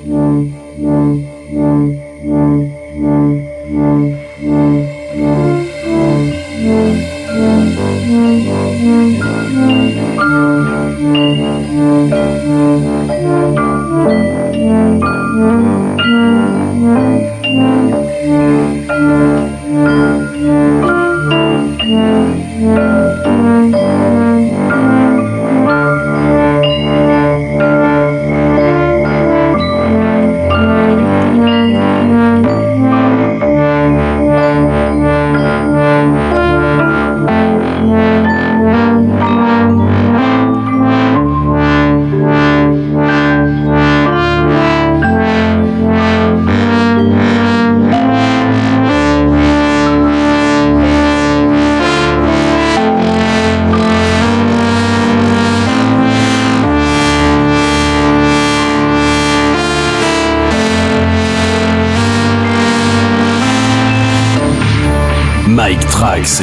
Mike Trax.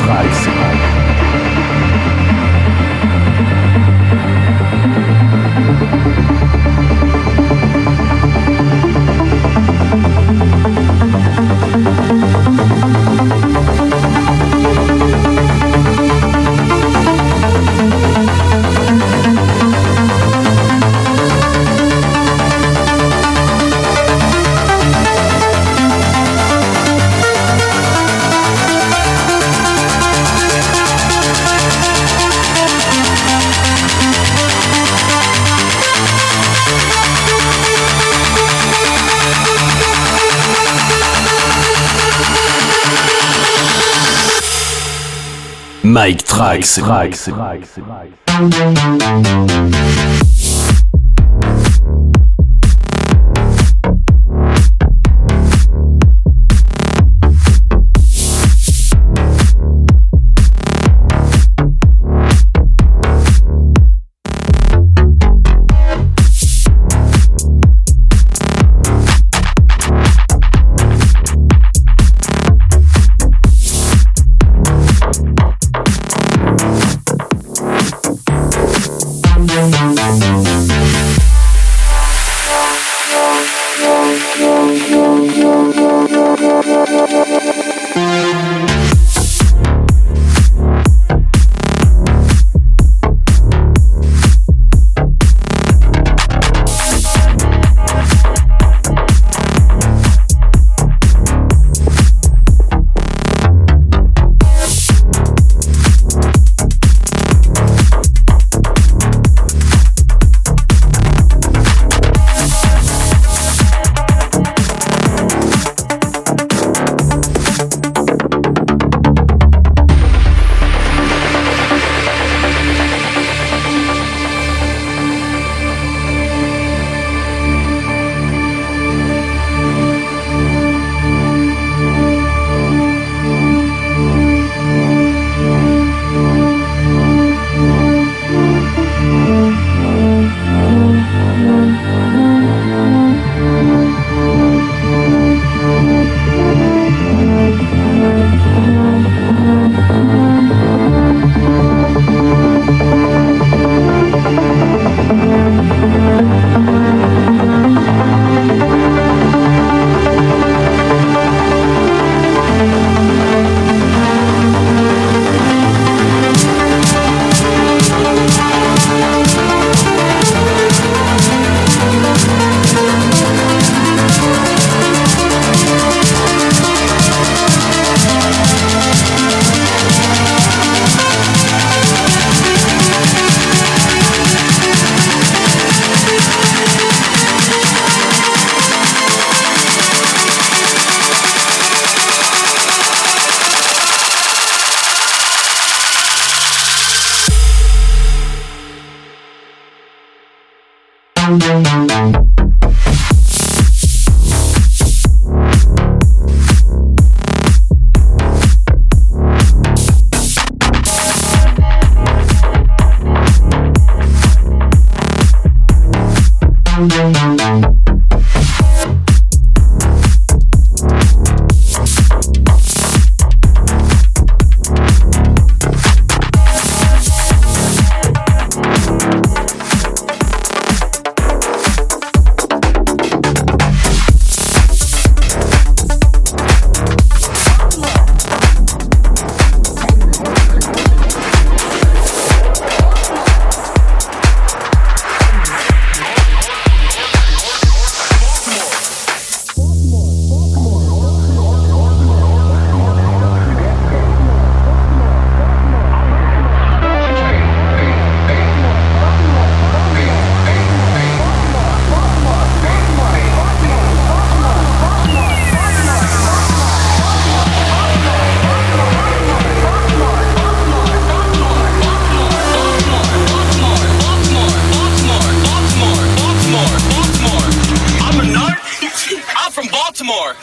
Mike Trax. Baltimore.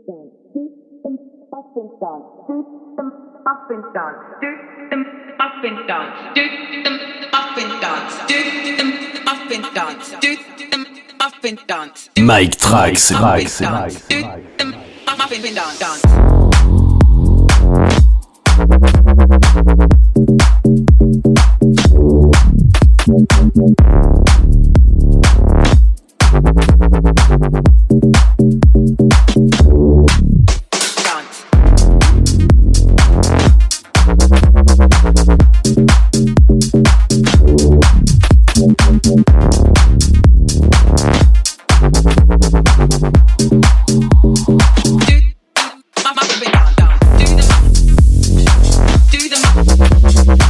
Mike Trax. Do the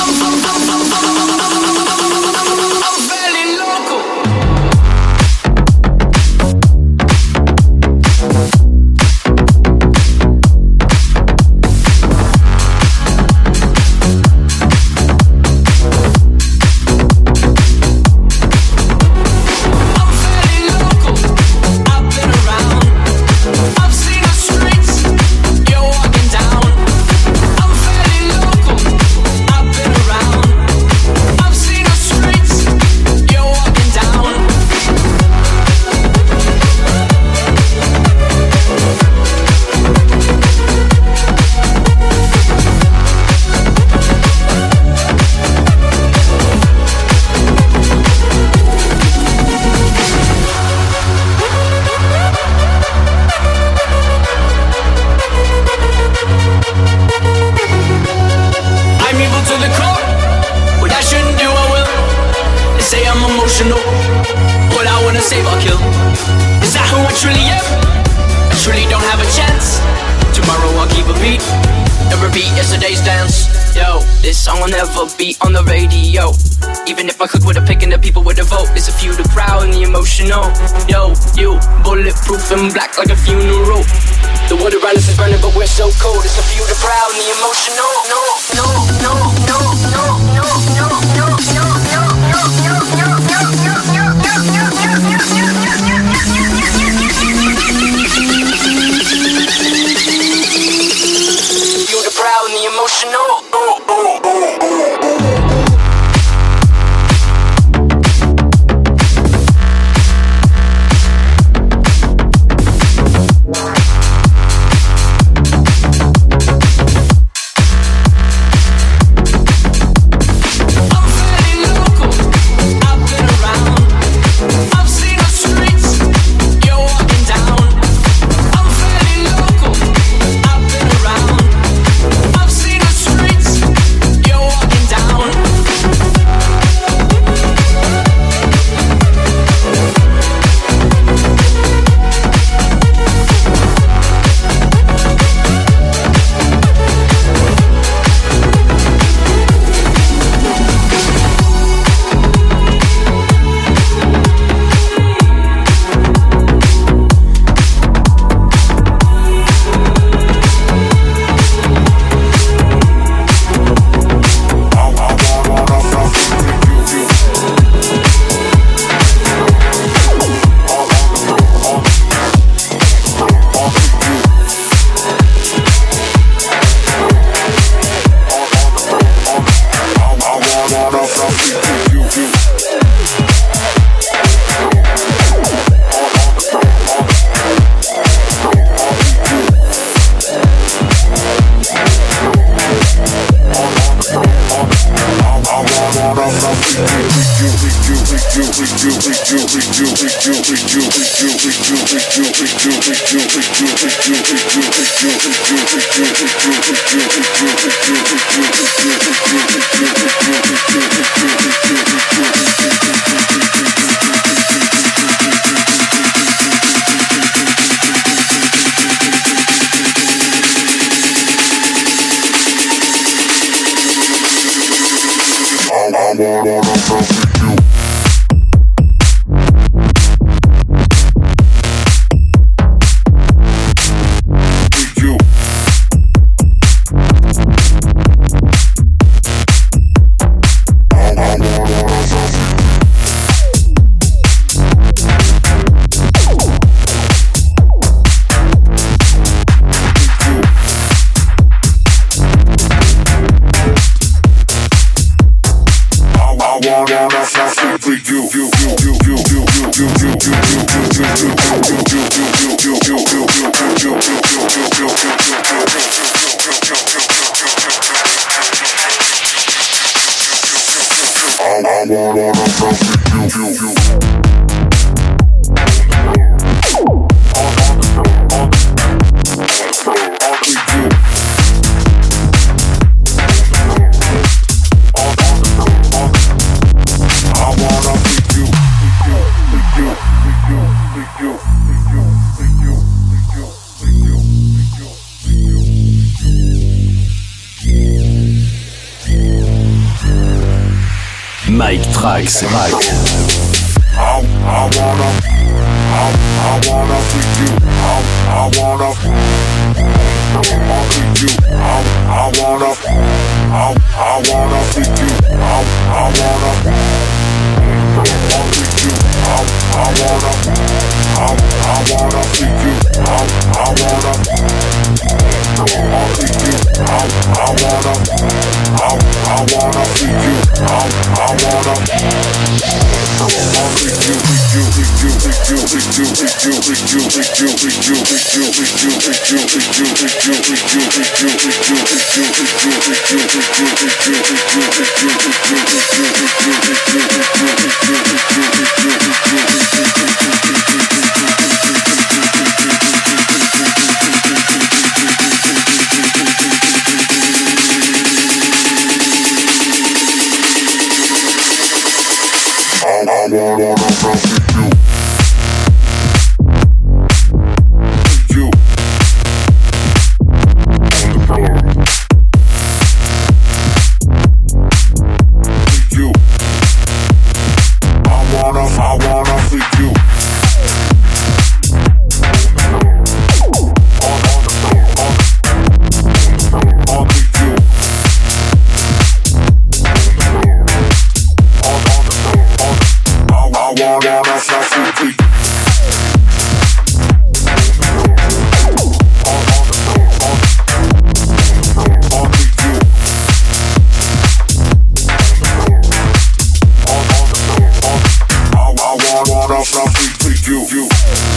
repeat yesterday's dance. Yo, this song will never be on the radio. Even if I could with a pick and the people with a vote, it's a few, the crowd and the emotional. Yo, you, bulletproof and black like a funeral. The water around us is burning but we're so cold. It's a few, the proud and the emotional. No, no, no, no, no, no, no, no, no, no, no, no, no, no, feel the proud and the emotional. Mike Trax. I wanna freak you. I wanna freak you. I wanna freak you. I wanna freak you. I wanna freak you. I wanna freak you. I wanna freak you.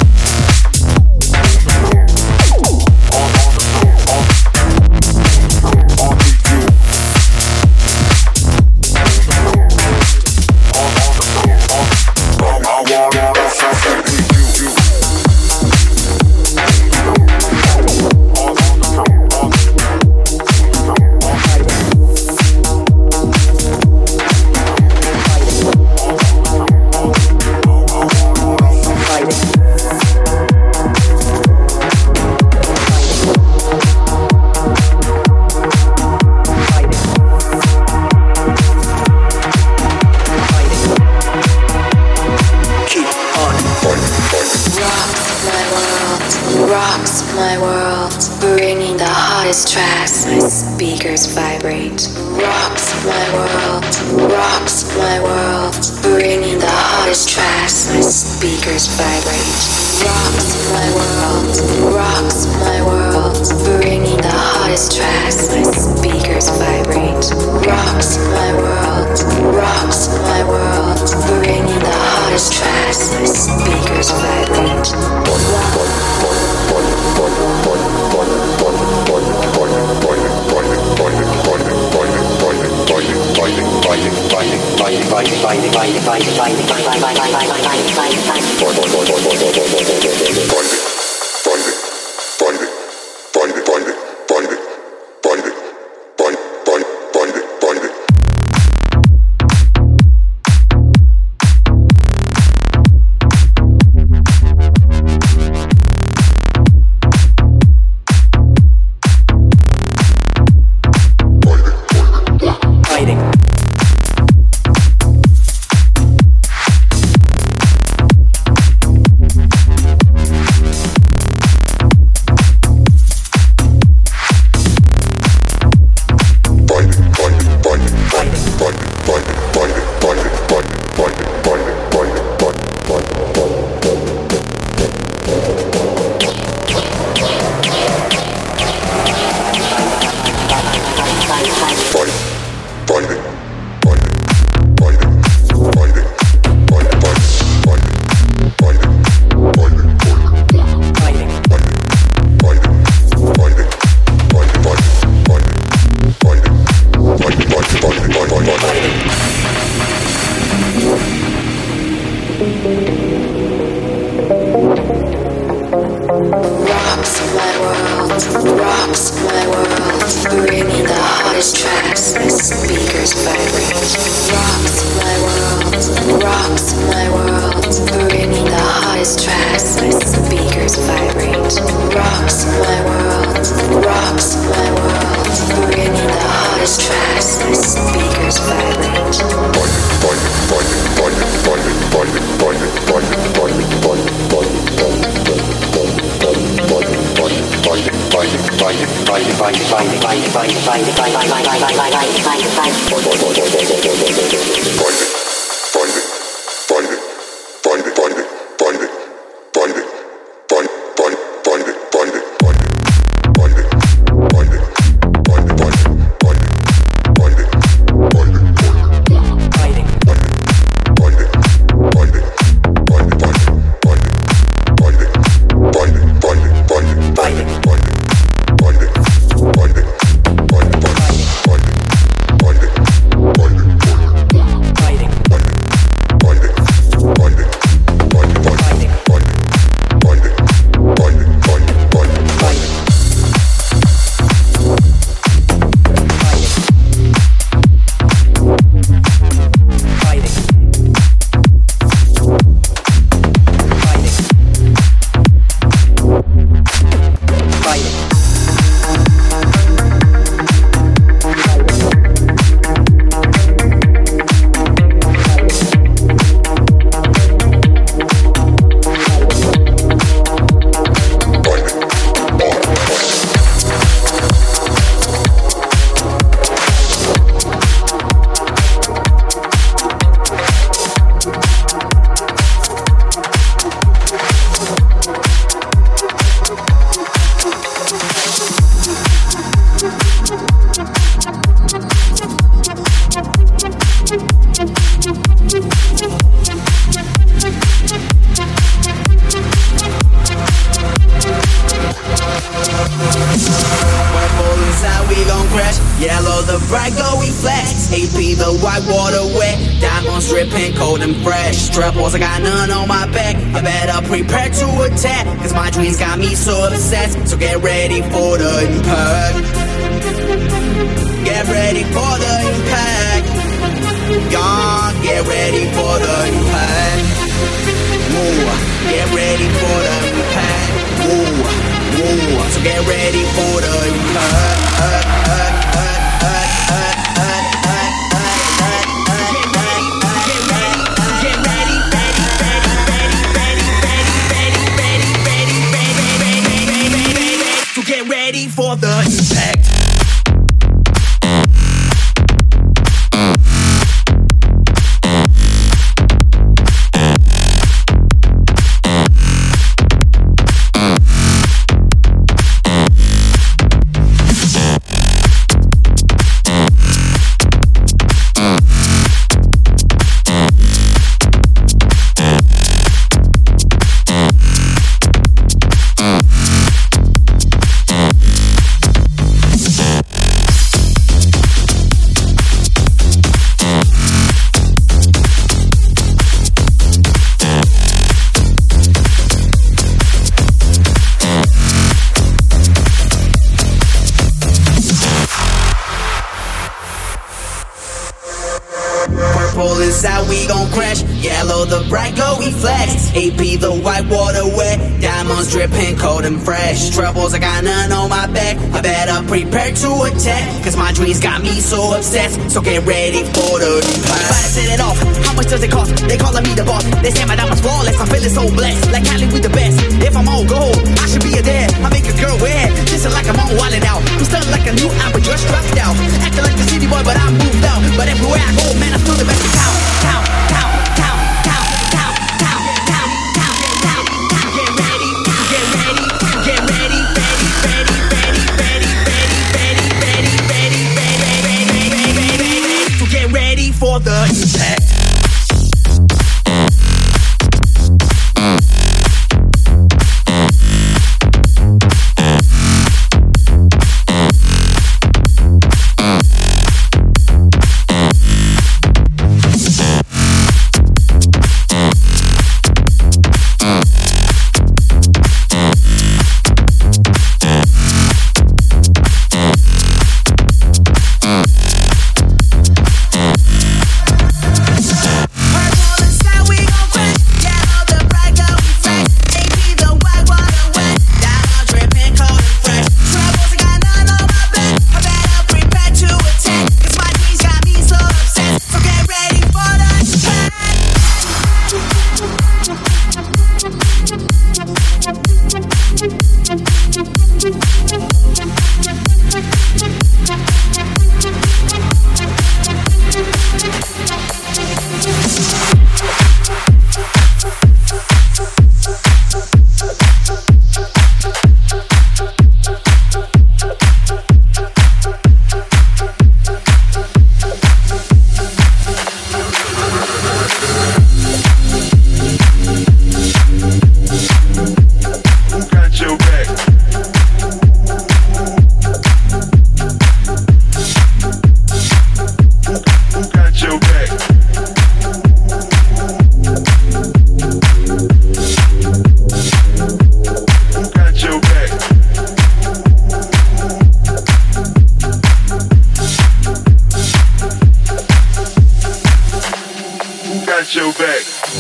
Fighting. the bright glowy flash. AP the white water wet. Diamonds dripping cold and fresh. Trebles, I got none on my back. I better prepare to attack, cause my dreams got me so obsessed. So get ready for the impact. Get ready for the impact. Gone, get ready for the impact. Move, get ready for the impact. Move, move, so get ready for the impact. Get ready for the impact. Purple is how we gon' crash. Yellow the bright glowy flash. AP the white water wet. Diamonds dripping cold and fresh. Troubles, I got none on my back. I better prepare to attack, cause my dreams got me so obsessed. So get ready for the impact. If I set it off, how much does it cost? They calling me the boss. They say my diamonds flawless. I'm feeling so blessed. Like Cali with the best. If I'm on gold, I should be a dad. I make a girl wear. Just like I'm on wildin' out. I'm stunned like a new album just dropped out. Acting like the city boy, but I moved out. But everywhere I go, man, I'm still the best in town. Count, count, count, count, count, count, count, count, count, count. Get ready, get ready, get ready, ready, ready, ready, ready, ready, ready, ready, ready, ready, to get ready for the impact. Your back.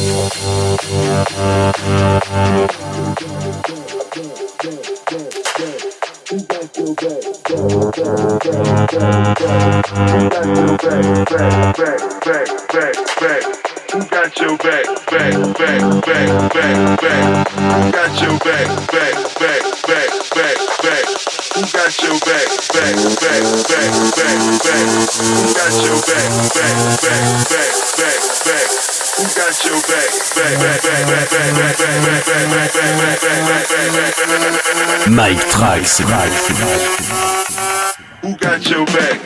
Who got your back, back, back, back, back, back? Who got your back, back, back, back, back, back? Who got your back, back, back, back, back, back? Who got your back, back, back, back, back, back? Who got your back, back, back, back, back, back, back, back, back, back, back, back, Mike Trax. Who got your back?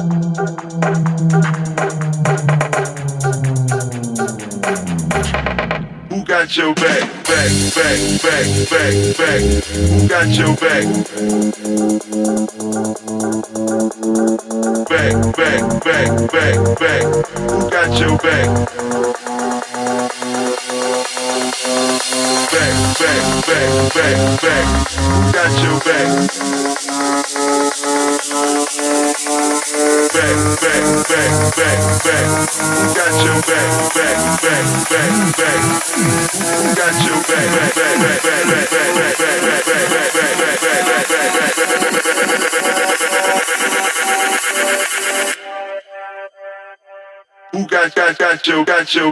Who got your back, back, back, back, back, back? Who got your back? Back, back, back, back, back. Who got your back? Back, back, back, back, back. Who got your back? Back, back, back, back, back. Who got your back? Back, back, back, back. Who got your back? Back, back, back, back, back, back, back, back, back, back, back, back, back, back, who got your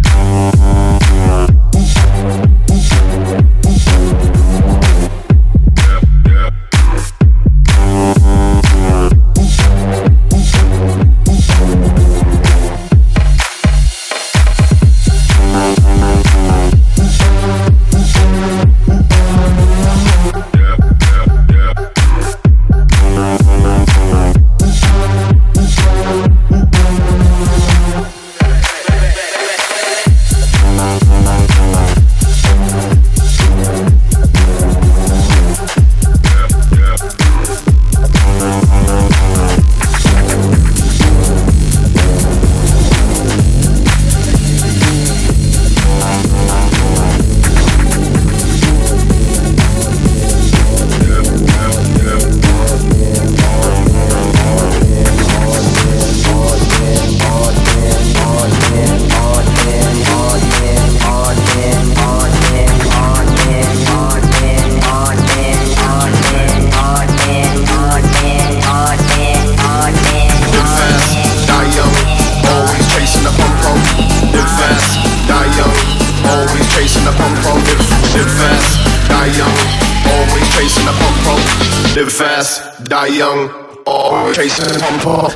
Live fast, die young, always chasing the pump.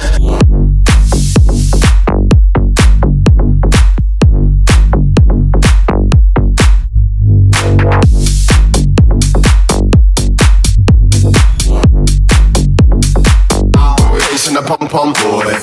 Chasing the pom-pom boy.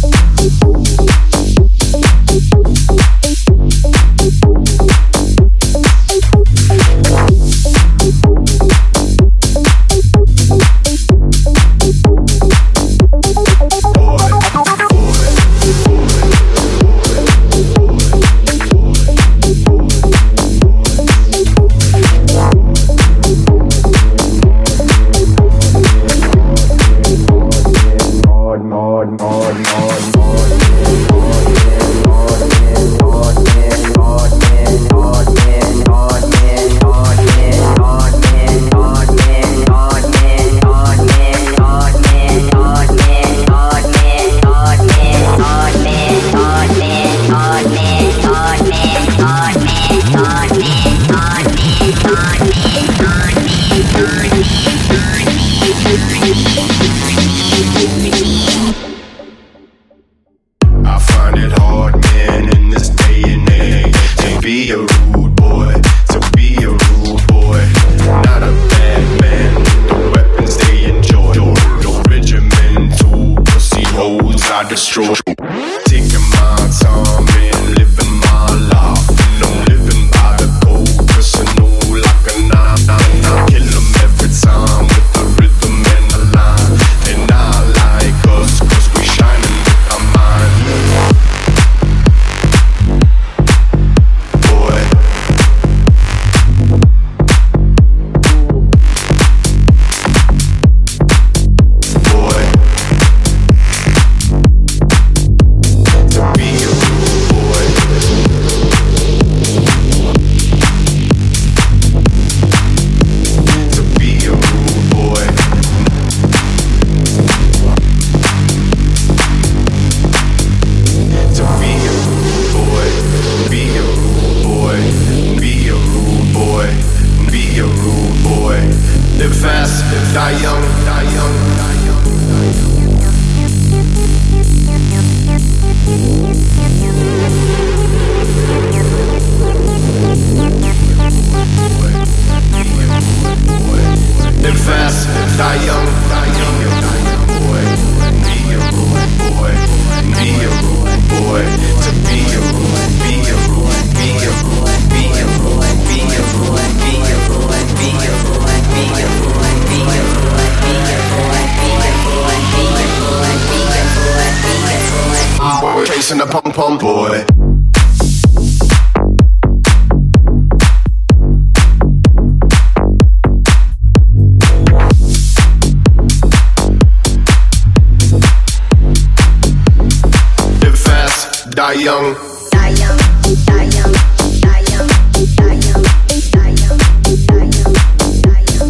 I find it hard, man, in this day and age, to be a rude boy, to be a rude boy. Not a bad man, the weapons they enjoy. The regimental pussy holes I destroy. Taking my time and living my life, and I'm living by the code, personal like a 999. Kill them every time with the rhythm and the line. They not like us, cause we shining with our mind. Boy, boy, to be a rude boy, to be a rude boy, to be a rude boy, be a rude boy, be a rude boy, be a rude boy. Live fast, die young, die young, die young, die young. Live fast, die young, die young, die young, boy. Be a rude bass and the pom pom boy. Live fast, die young. Die young, die young, die young, die young, die young, die young, die young.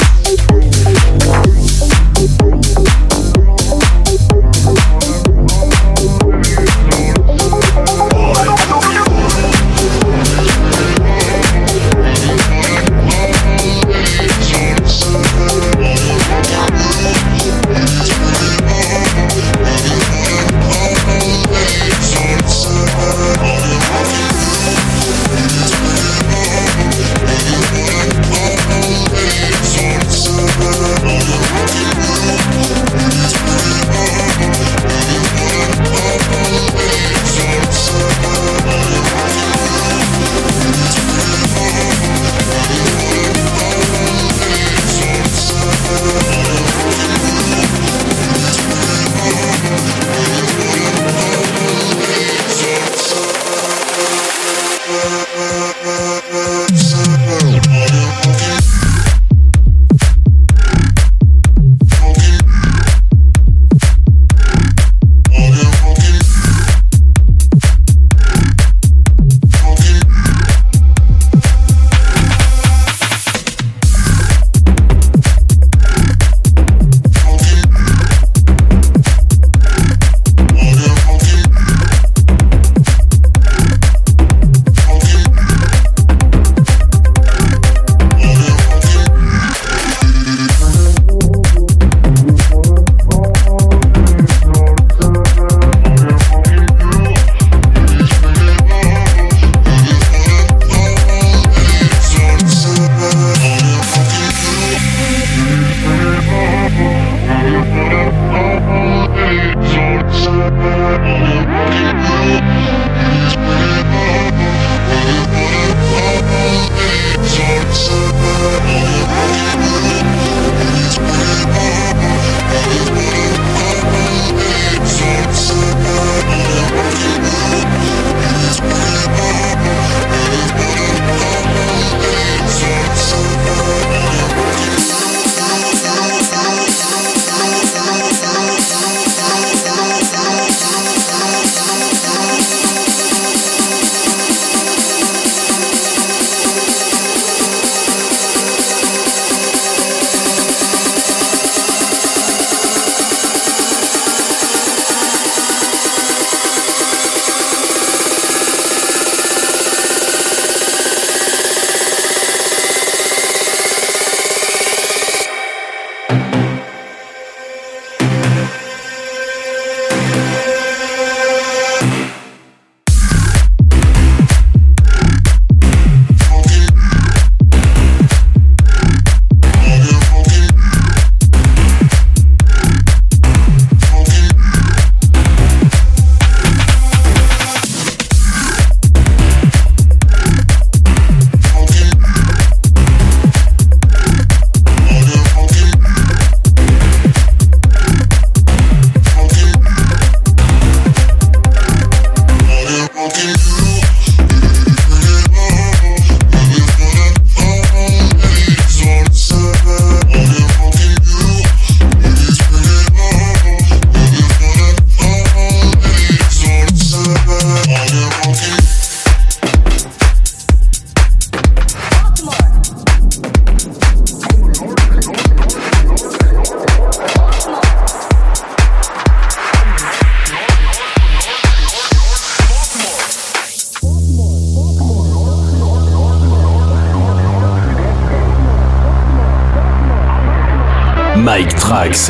Mike Trax.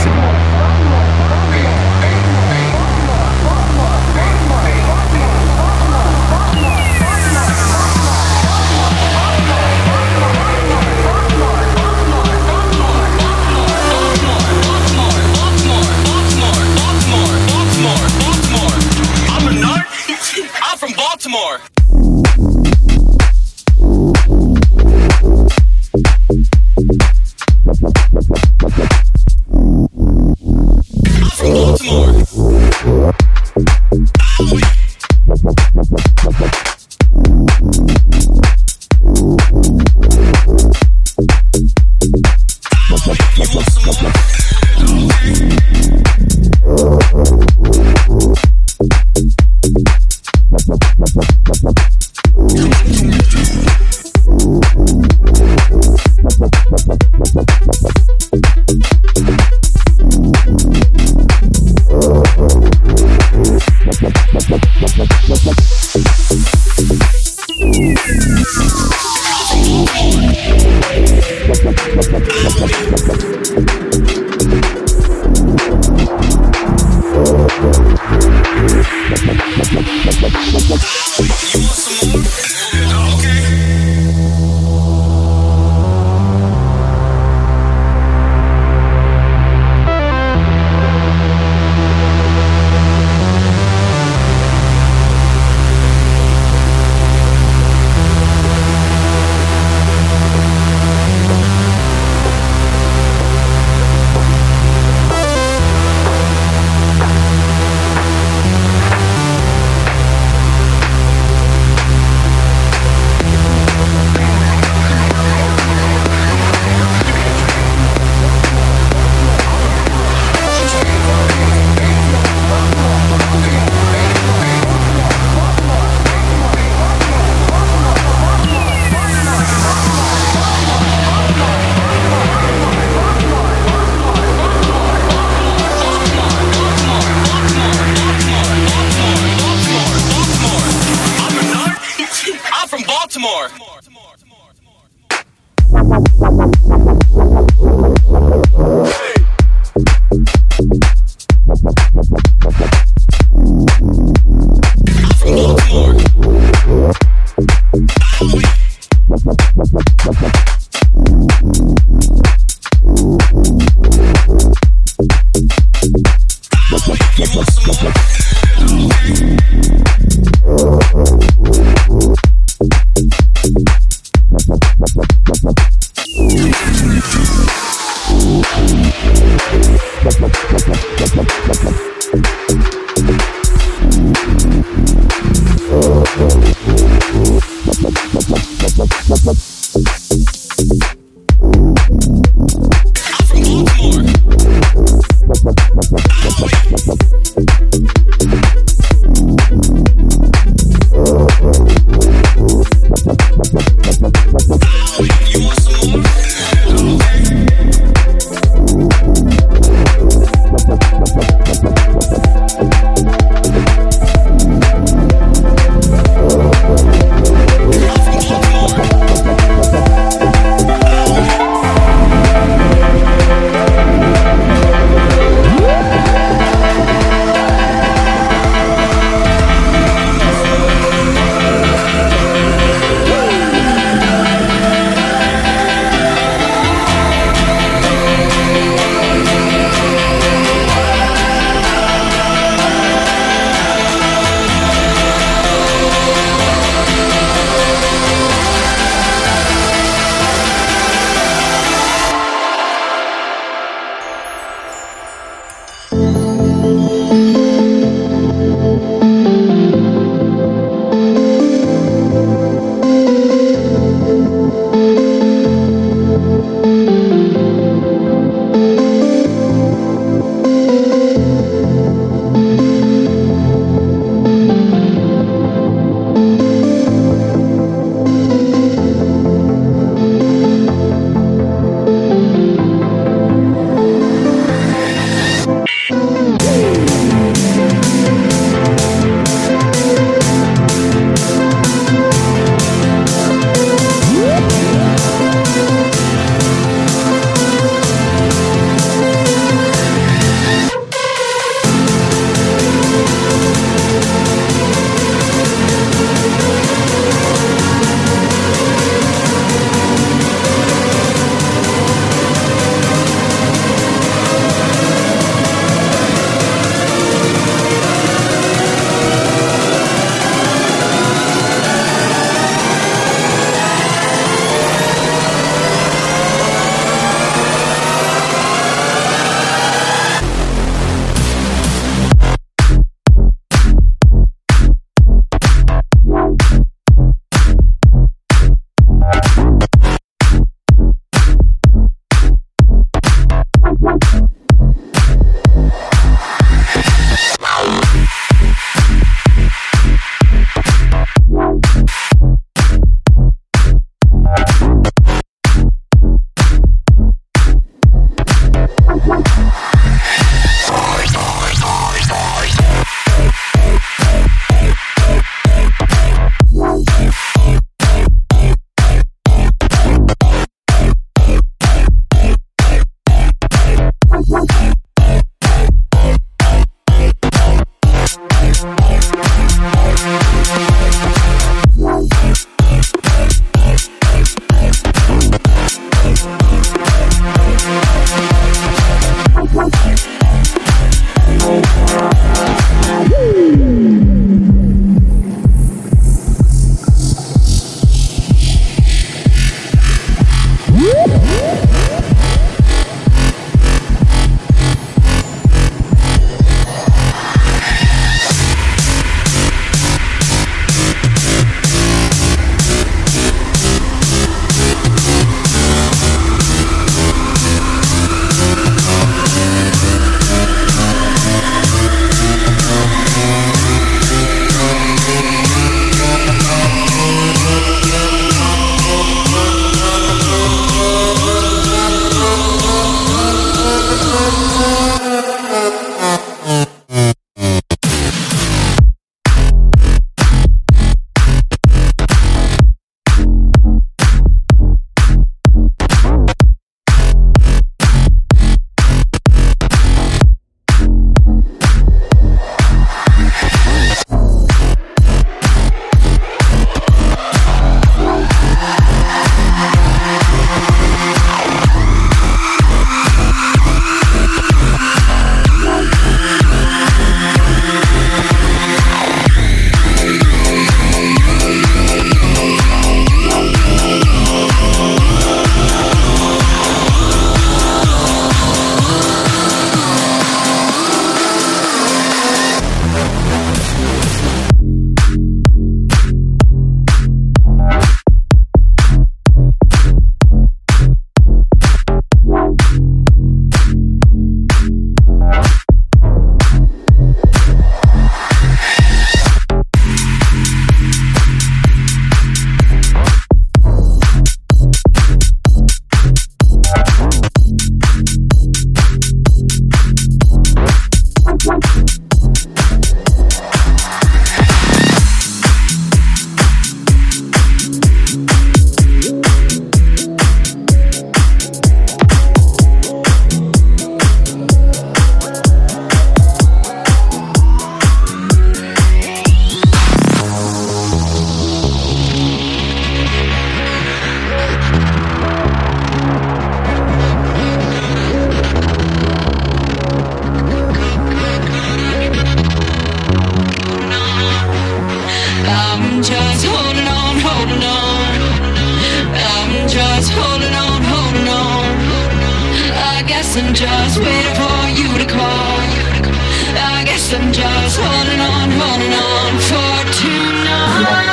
Baltimore. I'm from Baltimore. more. just holding on, holding on. I'm just holding on, holding on. I guess I'm just waiting for you to call. I guess I'm just holding on for tonight.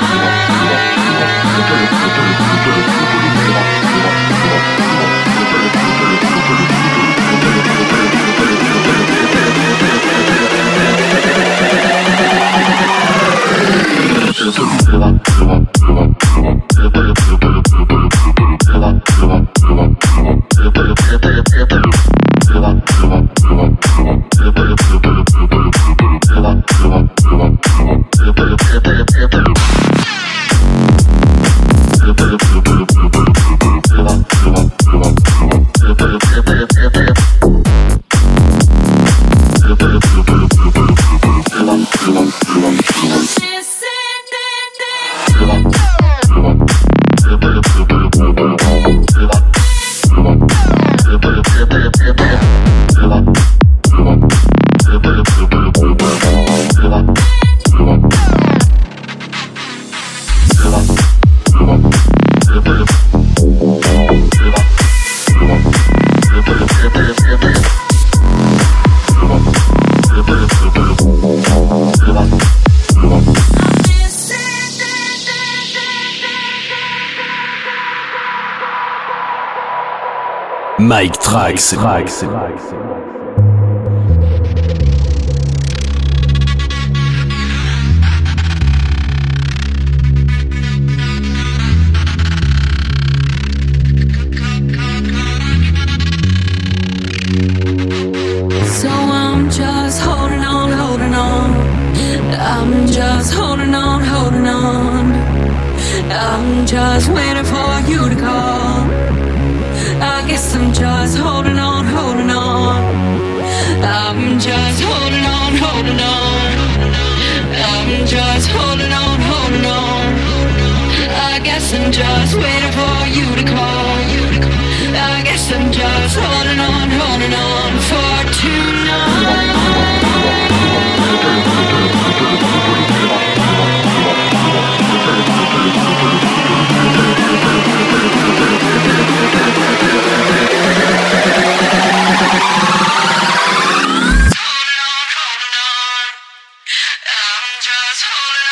Mike Trax. So I'm just holding on, holding on. I'm just holding on, holding on. I'm just waiting for you to call. I guess I'm just holding on, holding on. I'm just holding on, holding on. I'm just holding on, holding on. I guess I'm just waiting for you to call. I guess I'm just holding on for tonight. I'm just holding